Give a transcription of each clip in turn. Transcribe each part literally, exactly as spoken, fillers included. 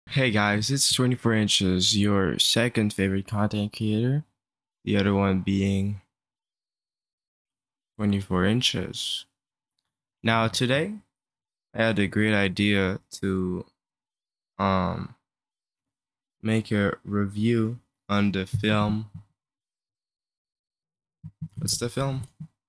Hey guys, it's twenty-four Inches, your second favorite content creator. The other one being twenty-four Inches. Now today, I had a great idea to um make a review on the film. What's the film?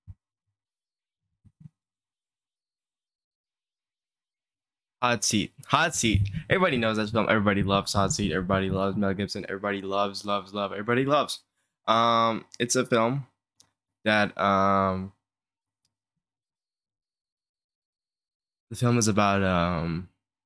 Hot Seat. Hot Seat. Everybody knows that film. Everybody loves Hot Seat. Everybody loves Mel Gibson. Everybody loves, loves, love. Everybody loves. Um, it's a film that um the film is about um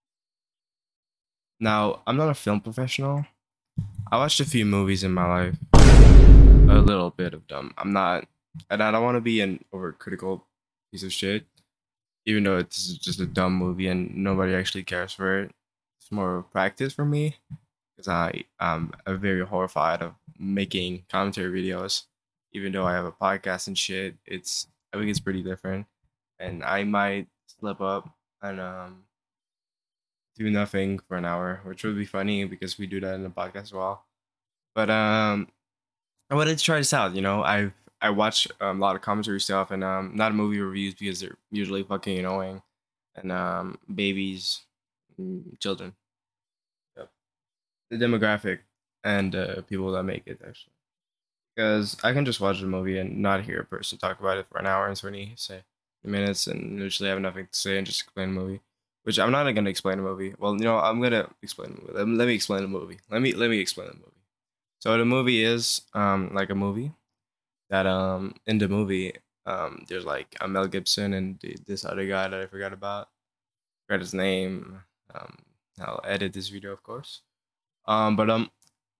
now I'm not a film professional. I watched a few movies in my life, a little bit of them. I'm not, and I don't want to be an overcritical piece of shit, even though it's just a dumb movie and nobody actually cares for it. It's more of practice for me because I am very horrified of making commentary videos. Even though I have a podcast and shit, it's I think it's pretty different, and I might slip up and um do nothing for an hour, which would be funny because we do that in the podcast as well. But um, I wanted to try this out. You know, I I watch um, a lot of commentary stuff and um, not movie reviews because they're usually fucking annoying, and um, babies, mm, children, yep. The demographic and uh, people that make it actually. Because I can just watch the movie and not hear a person talk about it for an hour and twenty say minutes and literally have nothing to say and just explain the movie. Which I'm not gonna explain the movie. Well, you know, I'm gonna explain the movie. Let me, let me explain the movie. Let me let me explain the movie. So the movie is um like a movie that um in the movie um there's like a Mel Gibson and the, this other guy that I forgot about. Forgot his name. Um, I'll edit this video, of course. Um, but um,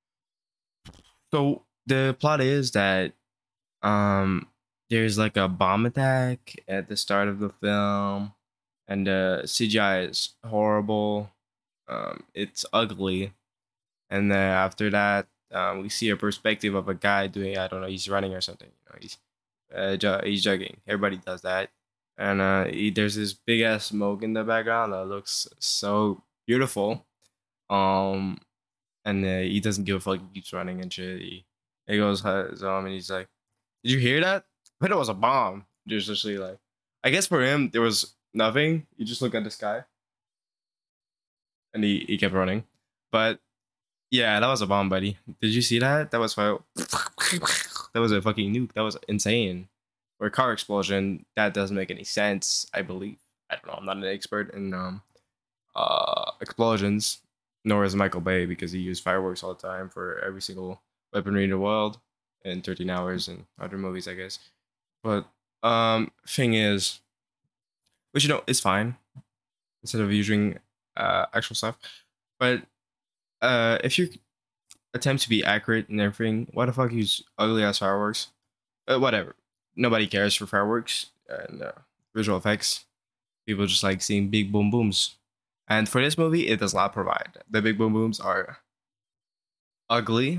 so the plot is that um there's like a bomb attack at the start of the film, and the C G I is horrible. Um, it's ugly, and then after that, um, we see a perspective of a guy doing I don't know, he's running or something. You know, he's uh, ju- he's jogging. Everybody does that, and uh, he, there's this big ass smoke in the background that looks so beautiful. Um, and uh, he doesn't give a fuck. He keeps running and shit. He, he goes home and he's like, "Did you hear that? I thought it was a bomb." There's literally like, I guess for him there was nothing. You just look at the sky and he, he kept running, but yeah, that was a bomb, buddy. Did you see that? That was fire. That was a fucking nuke. That was insane. Or a car explosion. That doesn't make any sense. I believe. I don't know. I'm not an expert in um uh explosions, nor is Michael Bay because he used fireworks all the time for every single weaponry in the world in thirteen hours and other movies, I guess. But um, thing is, which you know is fine instead of using uh actual stuff. But uh, if you attempt to be accurate and everything, why the fuck use ugly ass fireworks? Uh, whatever. Nobody cares for fireworks and uh, visual effects. People just like seeing big boom booms. And for this movie, it does not provide. The big boom booms are ugly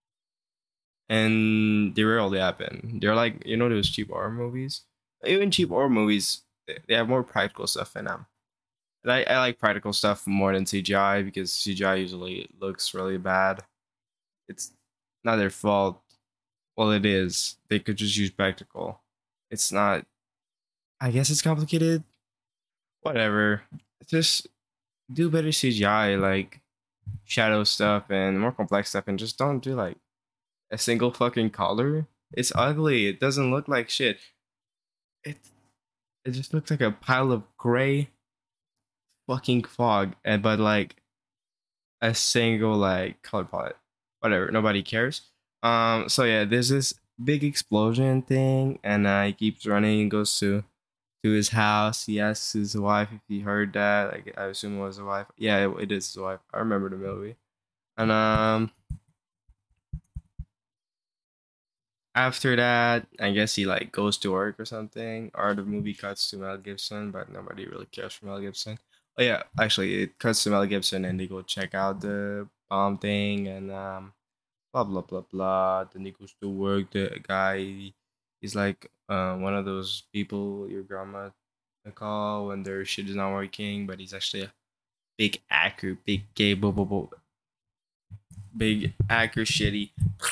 and they rarely happen. They're like, you know, those cheap horror movies? Even cheap horror movies, they they have more practical stuff in them. And I, I like practical stuff more than C G I because C G I usually looks really bad. It's not their fault. Well, it is. They could just use practical. It's not. I guess it's complicated. Whatever. Just do better C G I, like shadow stuff and more complex stuff, and just don't do like a single fucking color. It's ugly. It doesn't look like shit. It it just looks like a pile of gray fucking fog, and but like a single like color palette. Whatever. Nobody cares. Um. So yeah, there's this big explosion thing, and uh, he keeps running and goes to to his house. He asks his wife if he heard that. Like I assume it was his wife. Yeah, it, it is his wife. I remember the movie. And um, after that, I guess he like goes to work or something, or the movie cuts to Mel Gibson, but nobody really cares for Mel Gibson. Oh yeah, actually, it cuts to Mel Gibson, and they go check out the bomb thing, and um, blah blah blah blah. Then he goes to work. The guy, he's like uh, one of those people your grandma call when their shit is not working, but he's actually big actor, big gay, boo, boo, boo, big actor shitty,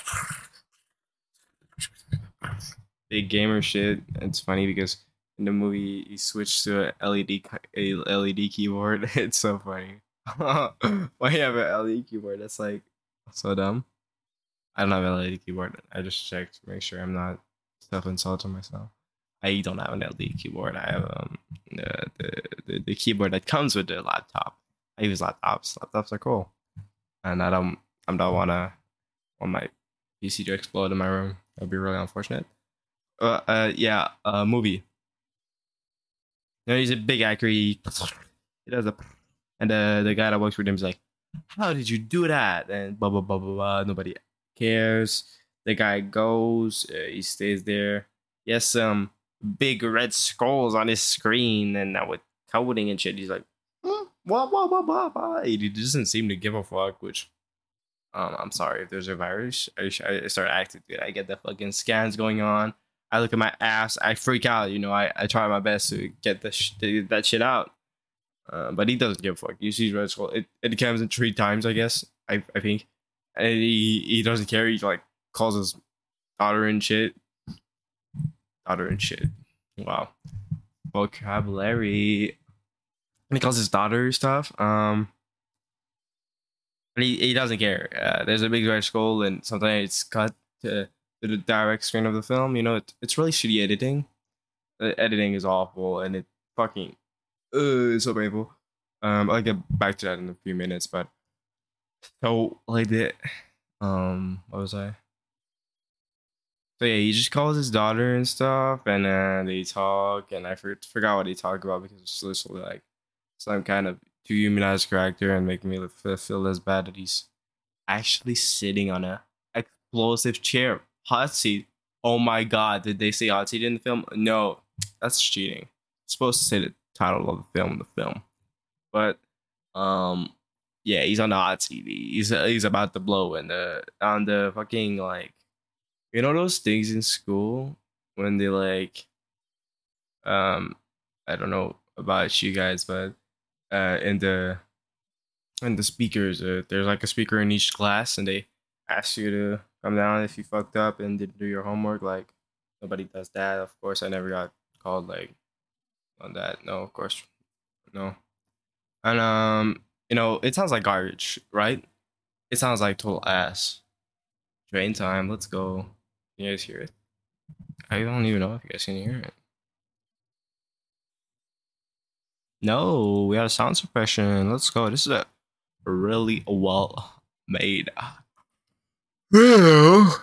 big gamer shit. It's funny because in the movie he switched to a L E D a L E D keyboard. It's so funny. Why you have an L E D keyboard? That's like so dumb. I don't have an L E D keyboard. I just checked to make sure I'm not self-insulting myself. I don't have an L E D keyboard. I have um the, the the the keyboard that comes with the laptop. I use laptops. Laptops are cool, and I don't. I don't wanna want my P C to explode in my room. That'd be really unfortunate. Uh, uh yeah. Uh, movie. You know, he's a big actor. He, he does a, and the the guy that works with him is like, "How did you do that?" And blah blah blah blah blah. Nobody cares. The guy goes. Uh, he stays there. Yes, some big red skulls on his screen, and now with coding and shit, he's like, "Hmm, blah blah blah blah blah." He doesn't seem to give a fuck. Which, um, I'm sorry if there's a virus. I, I start acting good. I get the fucking scans going on. I look at my ass. I freak out. You know, I, I try my best to get the sh- that shit out. Uh, but he doesn't give a fuck. You see Red Skull. It it comes in three times, I guess. I I think, and he he doesn't care. He like calls his daughter and shit. Daughter and shit. Wow, vocabulary. And he calls his daughter stuff. Um, and he he doesn't care. Uh, there's a big Red Skull, and sometimes it's cut to, to the direct screen of the film. You know, it, it's really shitty editing. The editing is awful, and it fucking uh, it's so painful. Um, I'll get back to that in a few minutes, but so like the um, what was I? So yeah, he just calls his daughter and stuff, and then they talk, and I for- forgot what he talked about because it's literally like some kind of to humanize character and make me feel, feel less bad that he's actually sitting on a explosive chair, hot seat. Oh my god, did they say hot seat in the film? No, that's cheating. It's supposed to say the title of the film, the film, but um, yeah, he's on the hot seat. He's he's about to blow, and the on the fucking like you know those things in school when they like um I don't know about you guys, but uh in the in the speakers, uh, there's like a speaker in each class, and they ask you to come down if you fucked up and didn't do your homework. Like nobody does that. Of course, I never got called like on that. No, of course, no. And um, you know, it sounds like garbage, right? It sounds like total ass. Train time. Let's go. You guys hear it? I don't even know if you guys can hear it. No, we have sound suppression. Let's go. This is a really well made. What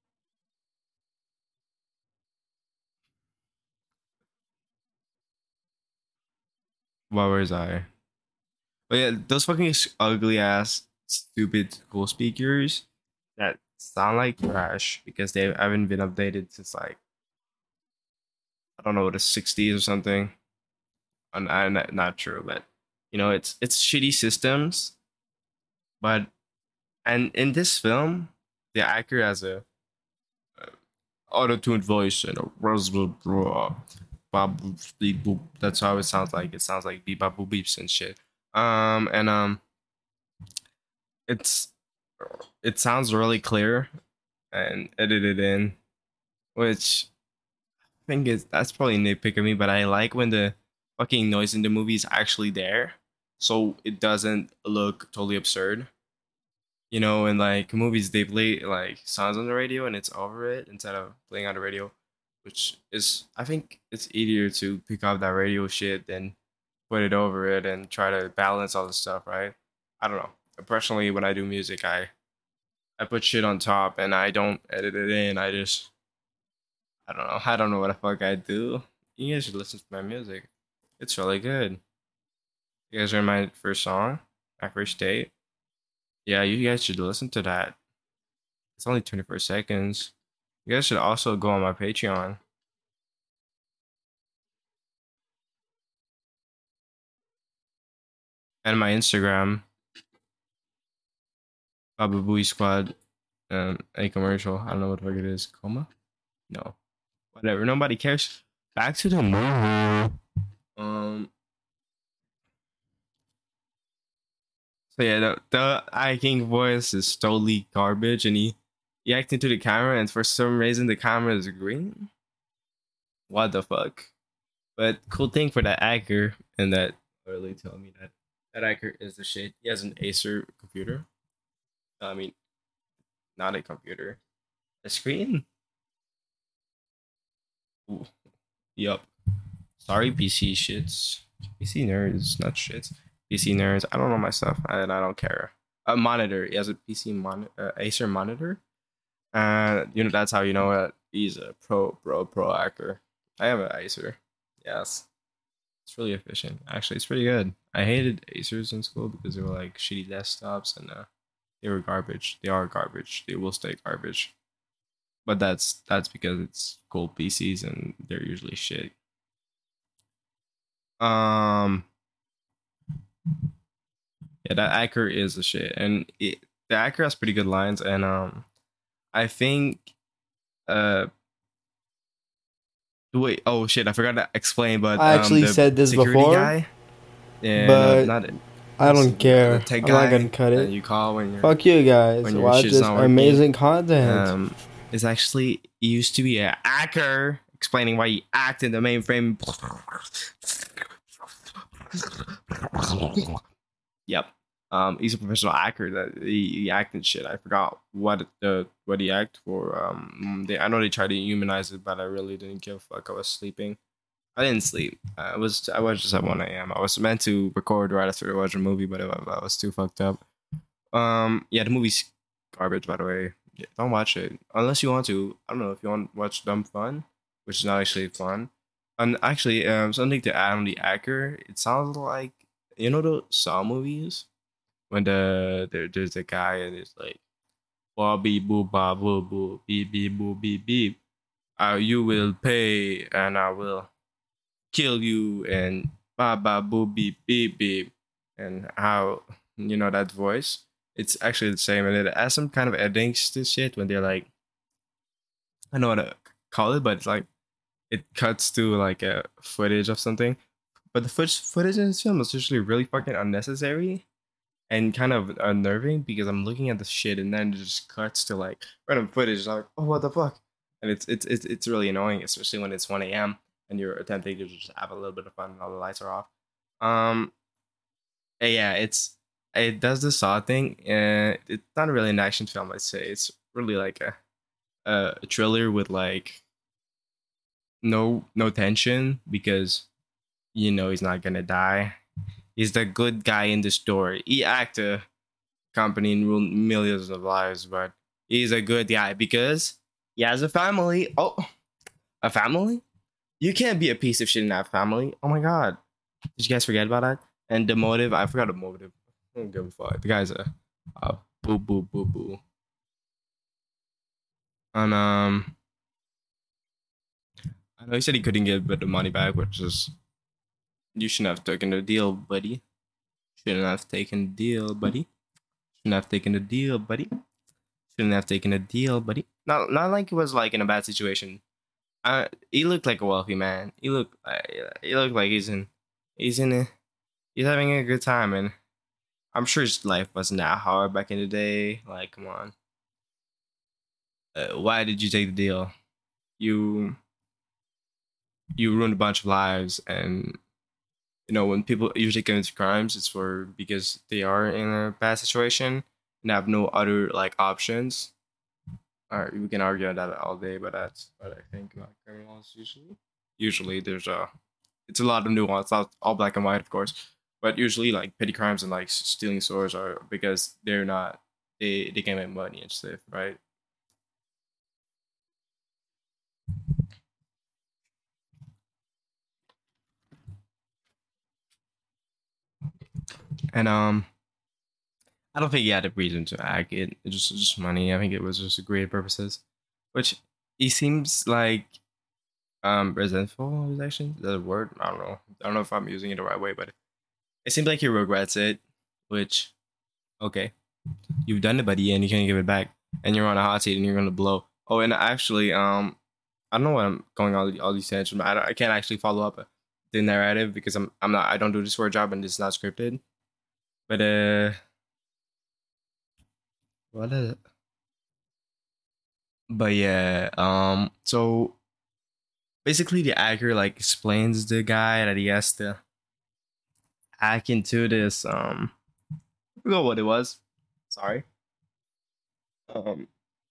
was I? But yeah, those fucking ugly ass, stupid school speakers that sound like trash because they haven't been updated since like I don't know the sixties or something. And I, not, not true, but you know it's it's shitty systems. But and in this film, the actor has a auto-tuned voice and a that's how it sounds like. It sounds like beep bop boop beeps and shit. Um and um it's it sounds really clear and edited in, which I think is that's probably nitpick of me, but I like when the fucking noise in the movie is actually there, so it doesn't look totally absurd. You know, in like movies they play like sounds on the radio and it's over it instead of playing on the radio, which is I think it's easier to pick up that radio shit than put it over it and try to balance all the stuff, right? I don't know. Personally, when I do music, I I put shit on top and I don't edit it in. I just I don't know. I don't know what the fuck I do. You guys should listen to my music. It's really good. You guys heard my first song, my first date. Yeah, you guys should listen to that. It's only twenty-four seconds. You guys should also go on my Patreon and my Instagram, Baba Booey Squad. Um, a commercial. I don't know what the fuck it is. Coma? No. Whatever. Nobody cares. Back to the movie. Um, So yeah, the, the I King voice is totally garbage, and he he acts into the camera, and for some reason the camera is green. What the fuck? But cool thing for that actor, and that really told me that that actor is the shit. He has an Acer computer. I mean, not a computer, a screen. Ooh, yup. Sorry, P C shits. P C nerds, not shits. P C nerds. I don't know my stuff, and I don't care. A monitor. He has a P C mon- uh, Acer monitor. Uh, you know that's how you know that he's a pro, pro, pro actor. I have an Acer. Yes, it's really efficient. Actually, it's pretty good. I hated Acers in school because they were like shitty desktops and uh, they were garbage. They are garbage. They will stay garbage. But that's that's because it's cool P Cs and they're usually shit. Um, yeah, that actor is the shit, and it, the actor has pretty good lines, and um, I think uh wait, oh shit, I forgot to explain, but I um, actually the said this security before, guy, yeah, no, but not I what's don't the, uh, the care. tech I'm not gonna guy cut that it. you call when you're Fuck you guys. when your Watch shit's this not working. amazing content. Um, is actually he used to be an actor, explaining why he acted in the mainframe. Yep. Um, he's a professional actor that he, he acted shit. I forgot what the what he act for. Um, they, I know they tried to humanize it, but I really didn't give a fuck. I was sleeping. I didn't sleep. I was I was just at one a m. I was meant to record right after I watched a movie, but I, I was too fucked up. Um, yeah, the movie's garbage, by the way. Yeah, don't watch it unless you want to. I don't know if you want to watch Dumb Fun, which is not actually fun. And actually, um, something to add on the actor. It sounds like you know the Saw movies when the there, there's a guy and it's like ba beep boo ba boo boo beep beep boo beep beep. Uh, you will pay and I will kill you and ba ba boo beep beep beep and how you know that voice. It's actually the same and it has some kind of endings to shit when they're like I don't know what to call it, but it's like it cuts to like a footage of something. But the footage footage in this film is usually really fucking unnecessary and kind of unnerving because I'm looking at the shit and then it just cuts to like random footage. Like, oh, what the fuck? And it's it's it's it's really annoying, especially when it's one a m and you're attempting to just have a little bit of fun and all the lights are off. Um, eh, yeah, it's it does the Saw thing, and it's not really an action film. I'd say it's really like a a, a thriller with like no no tension because you know he's not gonna die. He's the good guy in the story. He act a company and ruined millions of lives, but he's a good guy because he has a family. Oh, a family? You can't be a piece of shit in that family. Oh my god. Did you guys forget about that? And the motive, I forgot the motive. I don't give a fuck. The guy's a, a boo boo boo boo. And um I know he said he couldn't get the money back, which is you shouldn't have taken the deal, buddy. Shouldn't have taken the deal, buddy. Shouldn't have taken the deal, buddy. Shouldn't have taken the deal, buddy. Not not like he was like in a bad situation. Uh, he looked like a wealthy man. He looked like he looked like he's in he's in a, he's having a good time, and I'm sure his life wasn't that hard back in the day. Like, come on, uh, why did you take the deal? You you ruined a bunch of lives, and you know when people usually commit crimes, it's for because they are in a bad situation and have no other like options. All right, we can argue on that all day, but that's what I think about criminals usually. Usually, there's a it's a lot of nuance, not all black and white, of course, but usually like petty crimes and like stealing stores are because they're not they they can make money and stuff, right? And um, I don't think he had a reason to act. It, it just just money. I think it was just great purposes, which he seems like um resentful of his actions. Is that a word? I don't know. I don't know if I'm using it the right way, but it seems like he regrets it, which okay, you've done it, buddy, and you can't give it back, and you're on a hot seat, and you're gonna blow. Oh, and actually, um, I don't know what I'm going all all these tangents. I, I can't actually follow up the narrative because I'm I'm not I don't do this for a job and it's not scripted. But uh, What is it? But yeah, um, so basically the actor like explains the guy that he has to hack into this. Um, I forgot what it was. Sorry. Um,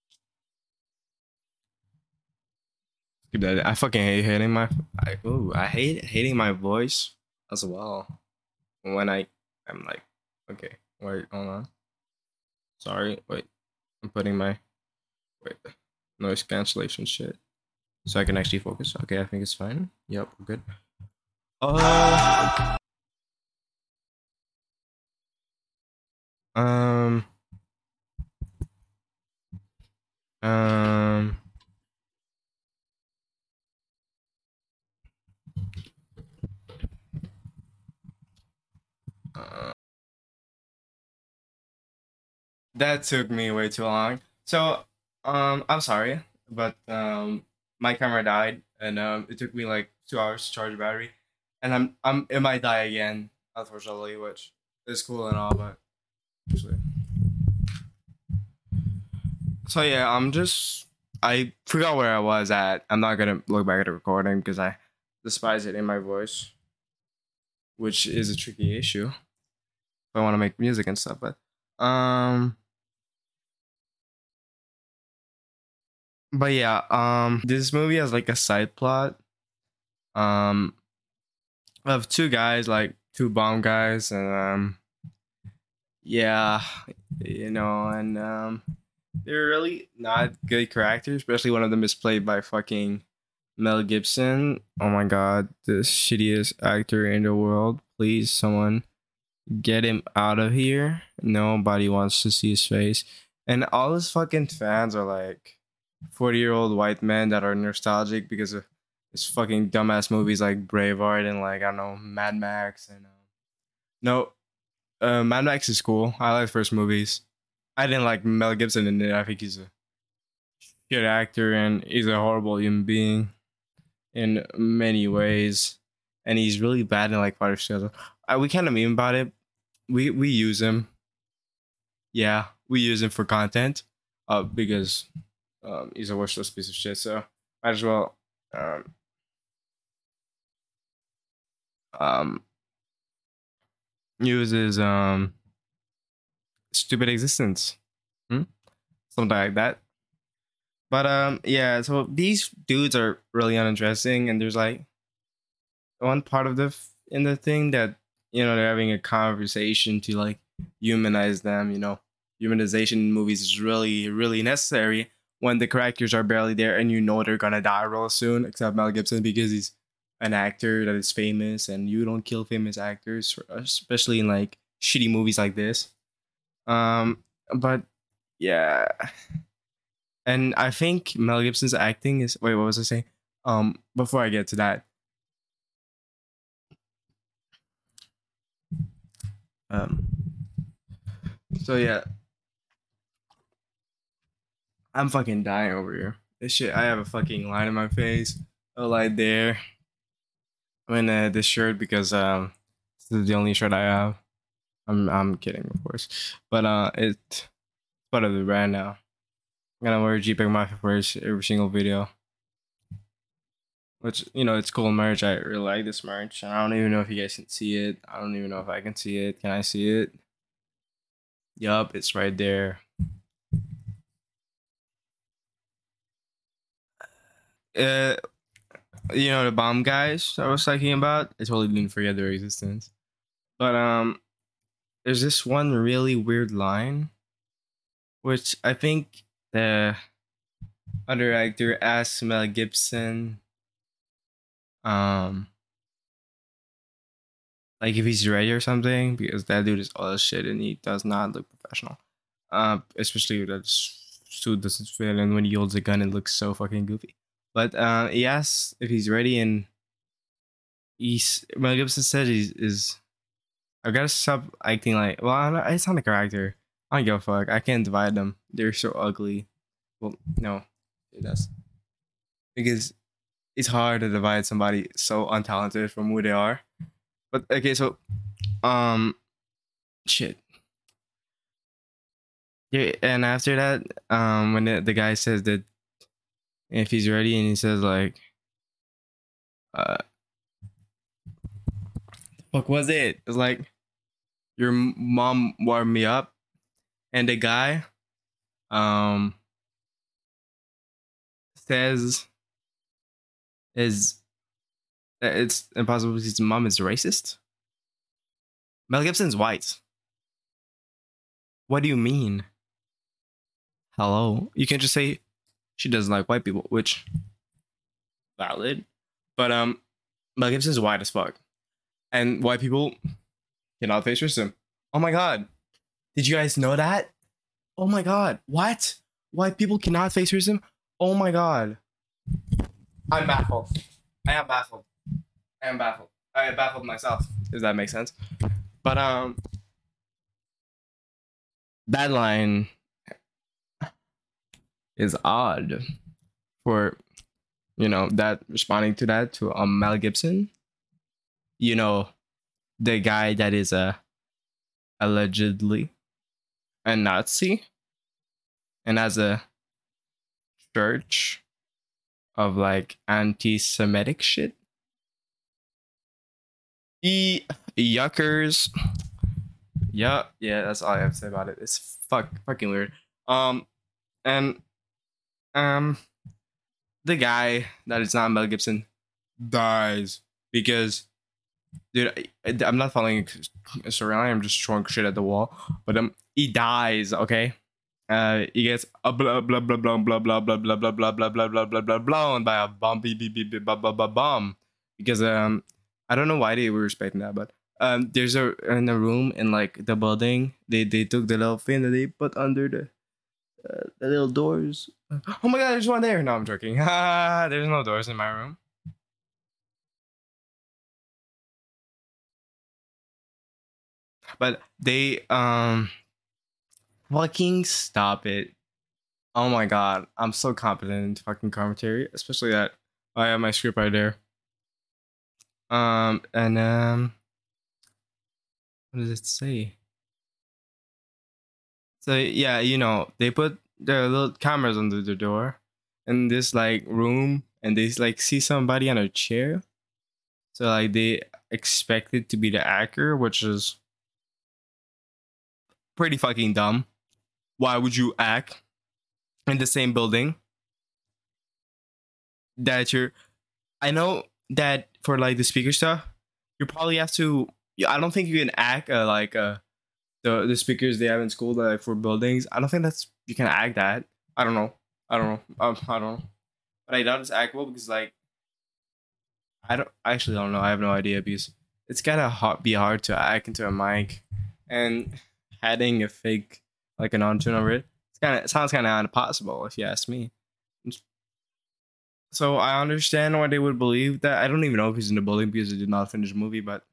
skip that. I fucking hate hating my. I ooh, I hate hating my voice as well. When I, I'm like, okay, wait, hold on. Sorry, wait. I'm putting my wait noise cancellation shit so I can actually focus. Okay, I think it's fine. Yep, we're good. Uh, um, um. Uh, that took me way too long. So, um, I'm sorry, but um, my camera died, and um, it took me like two hours to charge the battery, and I'm I'm it might die again, unfortunately, which is cool and all, but actually. So yeah, I'm just I forgot where I was at. I'm not gonna look back at the recording because I despise it in my voice, which is a tricky issue if I want to make music and stuff. But um, but yeah, um, this movie has like a side plot um of two guys, like two bomb guys, and um, yeah, you know, and um, they're really not good characters. Especially one of them is played by fucking Mel Gibson. Oh my god, the shittiest actor in the world. Please, someone get him out of here. Nobody wants to see his face. And all his fucking fans are like forty year old white men that are nostalgic because of his fucking dumbass movies like Braveheart and like, I don't know, Mad Max. And uh, no, uh, Mad Max is cool. I like first movies. I didn't like Mel Gibson in it. I think he's a good actor and he's a horrible human being in many ways, and he's really bad in like Father Schedule. Uh, we kind of meme about it. We we use him. Yeah, we use him for content, uh, because um he's a worthless piece of shit. So might as well um um use his um stupid existence, hmm? Something like that. But um yeah, so these dudes are really uninteresting, and there's like one part of the f- in the thing that, you know, they're having a conversation to like humanize them. You know, humanization in movies is really really necessary when the characters are barely there and you know they're gonna die real soon, except Mel Gibson because he's an actor that is famous, and you don't kill famous actors, especially in like shitty movies like this. Um, but yeah, and I think Mel Gibson's acting is, wait, what was I saying? Um, before I get to that, um, so yeah, I'm fucking dying over here. This shit, I have a fucking line in my face, a light there. I'm in uh, this shirt because um, this is the only shirt I have. I'm I'm kidding, of course, but uh, it's part of the brand now. I'm gonna wear JPEG Mafia for every single video, which, you know, it's cool merch. I really like this merch, and I don't even know if you guys can see it. I don't even know if I can see it. Can I see it? Yup, it's right there. Uh, you know the bomb guys I was talking about. I totally didn't forget their existence, but um, there's this one really weird line, which I think the other actor asked Mel Gibson, um, like if he's ready or something, because that dude is all this shit and he does not look professional. Uh, especially with that suit doesn't fit, and when he holds a gun, it looks so fucking goofy. But uh, he asks if he's ready, and he's Mel Gibson said he's is. I gotta stop acting like, well, I'm not, it's not a character. I don't give a fuck. I can't divide them. They're so ugly. Well, no, it does, because it's hard to divide somebody so untalented from who they are. But okay, so um, shit. Yeah, and after that, um, when the, the guy says that if he's ready, and he says like, uh, "Fuck was it?" It's like your mom warmed me up, and the guy, um, says is that it's impossible because his mom is racist. Mel Gibson's white. What do you mean? Hello, you can just say she doesn't like white people, which valid, but um, Mel Gibson's white as fuck, and white people cannot face racism. Oh my god, did you guys know that? Oh my god, what? White people cannot face racism? Oh my god, I'm baffled. I am baffled. I am baffled. I am baffled myself. Does that make sense? But um, that line is odd for, you know, that responding to that to um Mel Gibson. You know, the guy that is a allegedly a Nazi and has a church of like anti-Semitic shit. E yuckers. Yeah, yeah, that's all I have to say about it. It's fuck fucking weird. Um and um the guy that is not Mel Gibson dies because dude, I, I'm not following a storyline. I'm just throwing shit at the wall. But um, he dies. Okay, uh, he gets a blah blah blah blah blah blah blah blah blah blah blah blah blah blah blah blown by a bomb beep beep beep beep blah blah blah bomb because um, I don't know why they were respecting that, but um, there's a in a room in like the building. They they took the little thing that they put under the uh, the little doors. Oh my god, there's one there. No, I'm joking. Ha! There's no doors in my room. But they um fucking stop it. Oh my god. I'm so competent in fucking commentary. Especially that I have my script right there. Um and um what does it say? So yeah, you know, they put their little cameras under the door in this like room and they like see somebody on a chair. So like they expect it to be the actor, which is pretty fucking dumb. Why would you act in the same building that you're I know that for like the speaker stuff, you probably have to. Yeah, I don't think you can act uh, like uh, the the speakers they have in school like for buildings. I don't think that's you can act that. I don't know. I don't know. Um, I don't know. But I doubt it's actable because like I don't I actually don't know. I have no idea because it's gotta hard, be hard to act into a mic and adding a fake like an on-tune over it. It's kind of it sounds kind of impossible if you ask me. So I understand why they would believe that. I don't even know if he's in the building because he did not finish the movie, but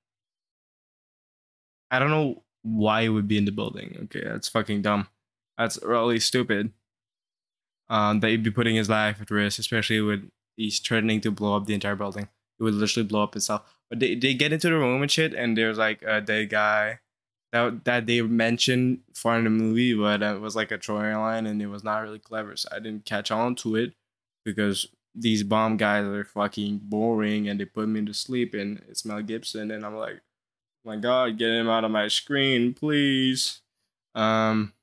I don't know why he would be in the building. Okay, that's fucking dumb. That's really stupid. Um, that he'd be putting his life at risk, especially with he's threatening to blow up the entire building. It would literally blow up itself. But they, they get into the room and shit, and there's like a dead guy that that they mentioned for in the movie, but it was like a throwing line, and it was not really clever. So I didn't catch on to it because these bomb guys are fucking boring and they put me to sleep and it's Mel Gibson and I'm like, oh my god, get him out of my screen, please. Um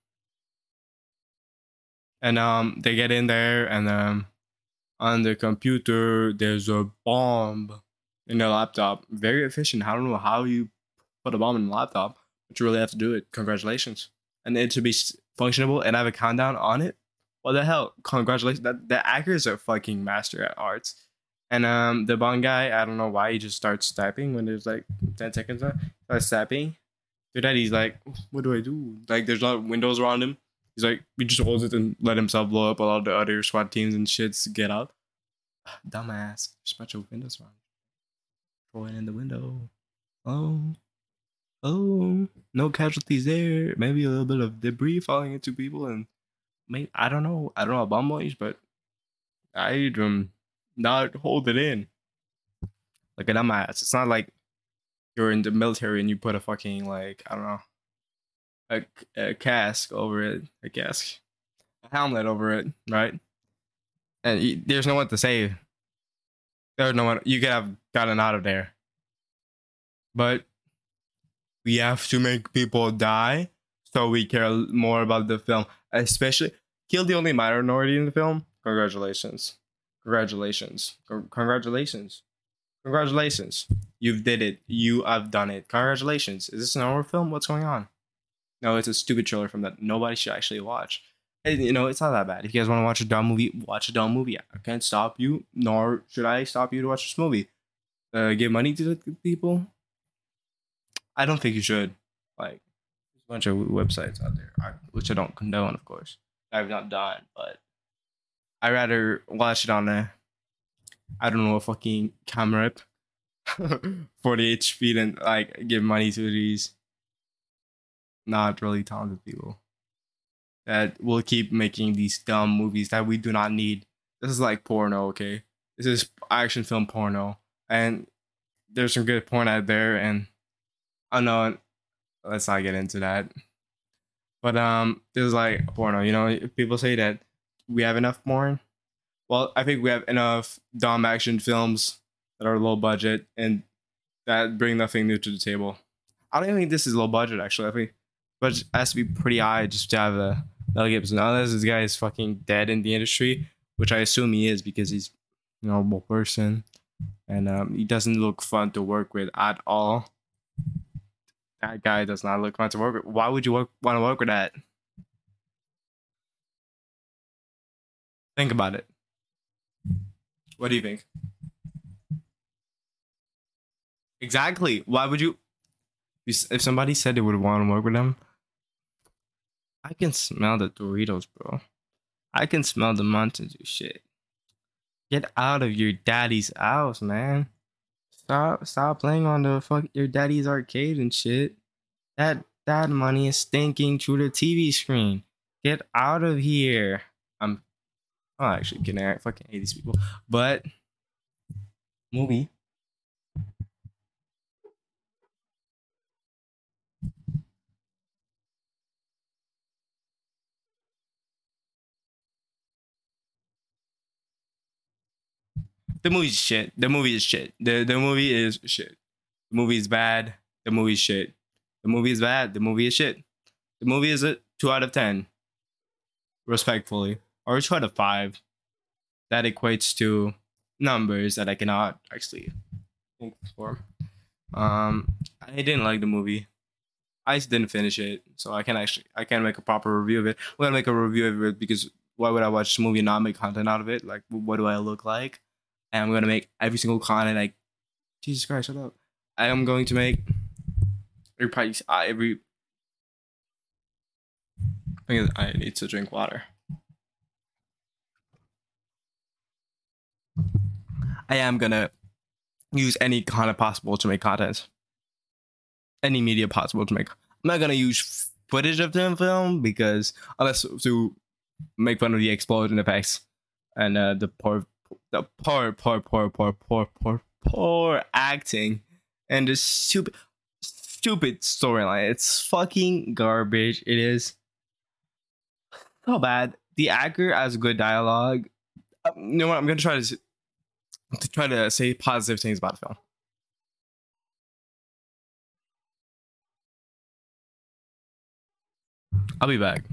and um they get in there and um on the computer there's a bomb in the laptop. Very efficient. I don't know how you put a bomb in a laptop, but you really have to do it. Congratulations. And it to be functionable and have a countdown on it. What the hell? Congratulations. That the actor is a fucking master at arts. And um the Bond guy, I don't know why he just starts typing when there's like ten seconds left. Starts tapping. After that he's like, what do I do? Like there's not windows around him. He's like, he just holds it and let himself blow up. A lot of the other SWAT teams and shits get out. Dumbass. There's a bunch of windows around. Throw it in the window. Oh. Oh. No casualties there. Maybe a little bit of debris falling into people and Mate, I don't know. I don't know about boys, but I um not hold it in. Like an dumbass. It's not like you're in the military and you put a fucking like I don't know a, a cask over it, a cask, a helmet over it, right? And you, there's no one to save. There's no one. You could have gotten out of there, but we have to make people die so we care more about the film. Especially kill the only minority in the film. Congratulations, congratulations, congratulations, congratulations. You've did it. You have done it. Congratulations. Is this an horror film? What's going on? No, it's a stupid trailer film that nobody should actually watch. And, you know, it's not that bad. If you guys want to watch a dumb movie, watch a dumb movie. I can't stop you, nor should I stop you to watch this movie. Uh, give money to the people? I don't think you should. Like, there's a bunch of websites out there, which I don't condone, of course. I've not done, but I'd rather watch it on a, I don't know, a fucking camera forty H P than, like, give money to these not really talented people that will keep making these dumb movies that we do not need. This is like porno, okay? This is action film porno. And there's some good porn out there, and I know, let's not get into that. But um, this is like porno, you know? People say that we have enough porn. Well, I think we have enough dumb action films that are low budget and that bring nothing new to the table. I don't even think this is low budget, actually. I think but it has to be pretty high just to have a Mel Gibson. Unless this guy is fucking dead in the industry, which I assume he is because he's a normal person. And um, he doesn't look fun to work with at all. That guy does not look fun to work with. Why would you work, want to work with that? Think about it. What do you think? Exactly. Why would you? If somebody said they would want to work with them, I can smell the Doritos, bro. I can smell the Mountain Dew shit. Get out of your daddy's house, man. Stop, stop playing on the fuck your daddy's arcade and shit. That that money is stinking through the T V screen. Get out of here. I'm, I'm actually kidding. I fucking hate these people. But movie. The movie's shit. The movie is shit. The the movie is shit. The movie is bad. The movie is shit. The movie is bad. The movie is shit. The movie is a two out of ten. Respectfully. Or a two out of five. That equates to numbers that I cannot actually think for. Um I didn't like the movie. I just didn't finish it. So I can't actually I can't make a proper review of it. I'm gonna make a review of it because why would I watch the movie and not make content out of it? Like, what do I look like? And I'm gonna make every single content. Like, Jesus Christ, shut up! I am going to make every price. Uh, every. I think I need to drink water. I am gonna use any content possible to make content. Any media possible to make. I'm not gonna use footage of the film because unless to make fun of the explosion effects and uh, the poor. The poor, poor, poor, poor, poor, poor, poor acting and the stupid, stupid storyline. It's fucking garbage. It is so bad. The actor has good dialogue. Um, you know what? I'm gonna try to to try to say positive things about the film. I'll be back.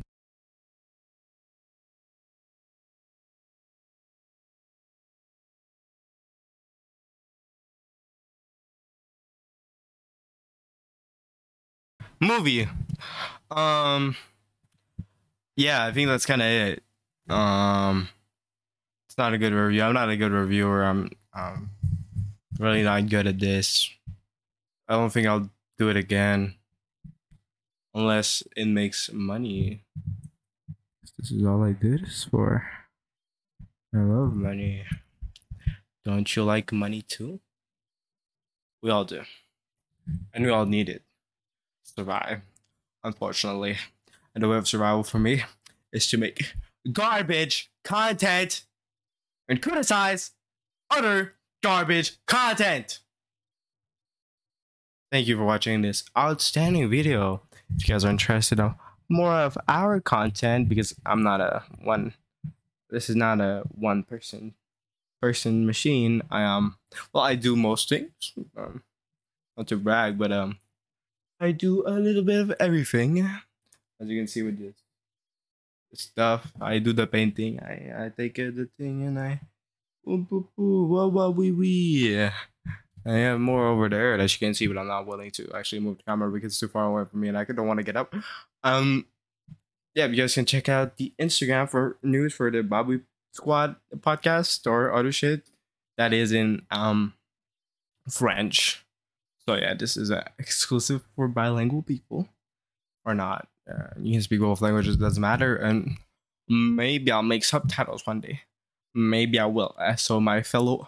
Movie. Um yeah, I think that's kind of it. Um it's not a good review. I'm not a good reviewer. I'm um really not good at this. I don't think I'll do it again unless it makes money. This is all I do this for. I love money. Don't you like money too? We all do. And we all need it. Survive, unfortunately. And the way of survival for me is to make garbage content and criticize other garbage content. Thank you for watching this outstanding video. If you guys are interested in more of our content, because I'm not a one. This is not a one person person machine. I um well I do most things. Um, not to brag, but um I do a little bit of everything. As you can see with this stuff, I do the painting. I I take uh, the thing and I ooh, boo, boo, wah, wah, wee, wee. I have more over there that you can see, but I'm not willing to actually move the camera because it's too far away from me and I don't want to get up. Um, yeah, you guys can check out the Instagram for news for the Bobby Squad podcast or other shit that is in um French. So yeah, this is uh, exclusive for bilingual people or not. Uh, you can speak both languages, doesn't matter. And maybe I'll make subtitles one day. Maybe I will. Uh, so my fellow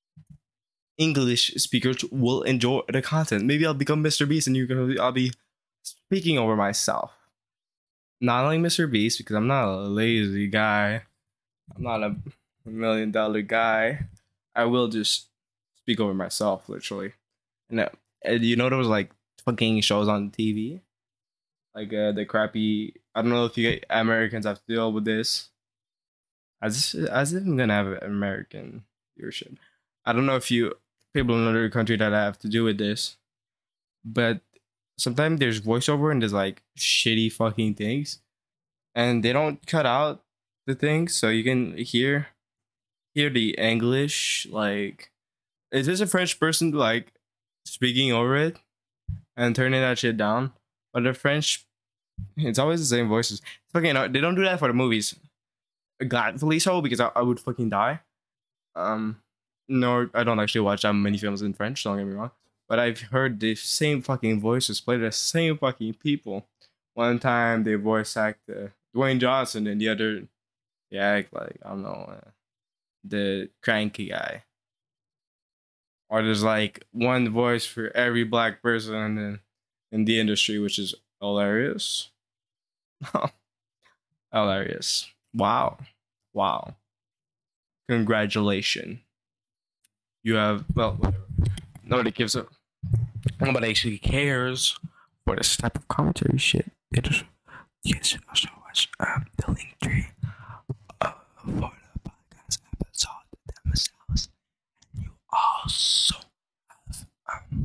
English speakers will enjoy the content. Maybe I'll become Mister Beast and you can I'll be speaking over myself. Not like Mister Beast because I'm not a lazy guy. I'm not a million dollar guy. I will just speak over myself, literally. And, uh, and you know there was like fucking shows on T V, like uh, the crappy. I don't know if you Americans have to deal with this. As as if I'm gonna have an American viewership. I don't know if you people in another country that have to do with this, but sometimes there's voiceover and there's like shitty fucking things, and they don't cut out the things so you can hear hear the English. Like, is this a French person like speaking over it and turning that shit down? But the French, it's always the same voices. Fucking, they don't do that for the movies. Gladfully so, because I, I would fucking die. Um, no, I don't actually watch that many films in French. Don't get me wrong, but I've heard the same fucking voices play the same fucking people. One time they voice act uh, Dwayne Johnson, and the other they act like I don't know uh, the cranky guy. Or there's like one voice for every black person in, in the industry, which is hilarious. Hilarious. Wow. Wow. Congratulations. You have, well, whatever. Nobody gives a, nobody actually cares for this type of commentary shit. It is, you guys should also watch um, the link tree uh, for the podcast episode themselves. And you also have um,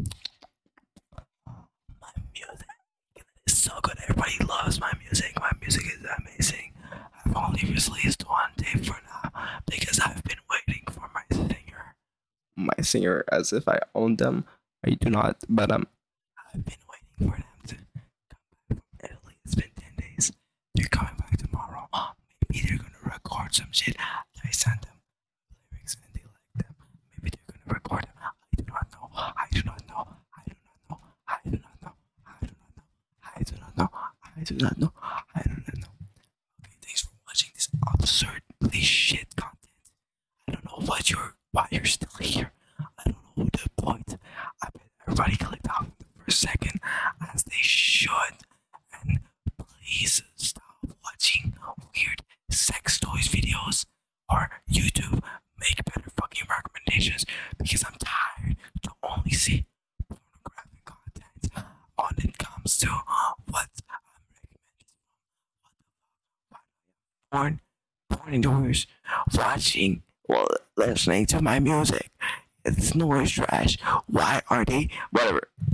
my music. It's so good. Everybody loves my music. My music is amazing. I've only released one tape for now because I've been waiting for my singer. My singer, as if I own them. I do not, but um, I've been waiting for them to come back from Italy. It's been ten days. They're coming back tomorrow. Maybe they're gonna record some shit. I sent them lyrics and they like them. Maybe they're gonna record them. I do not know. I do not know. I do not know. I do not know. I do not know. I do not know. I do not know. Okay, thanks for watching this absurdly shit content. I don't know what you're why you're still here. I don't know the point. I bet everybody clicked off the first second, as they should. And please stop watching weird sex toys videos or YouTube. Make better fucking recommendations because I'm tired to only see pornographic content when it comes to what I'm recommending. Porn, porn indoors, watching, well, listening to my music. It's noise trash. Why are they? Whatever.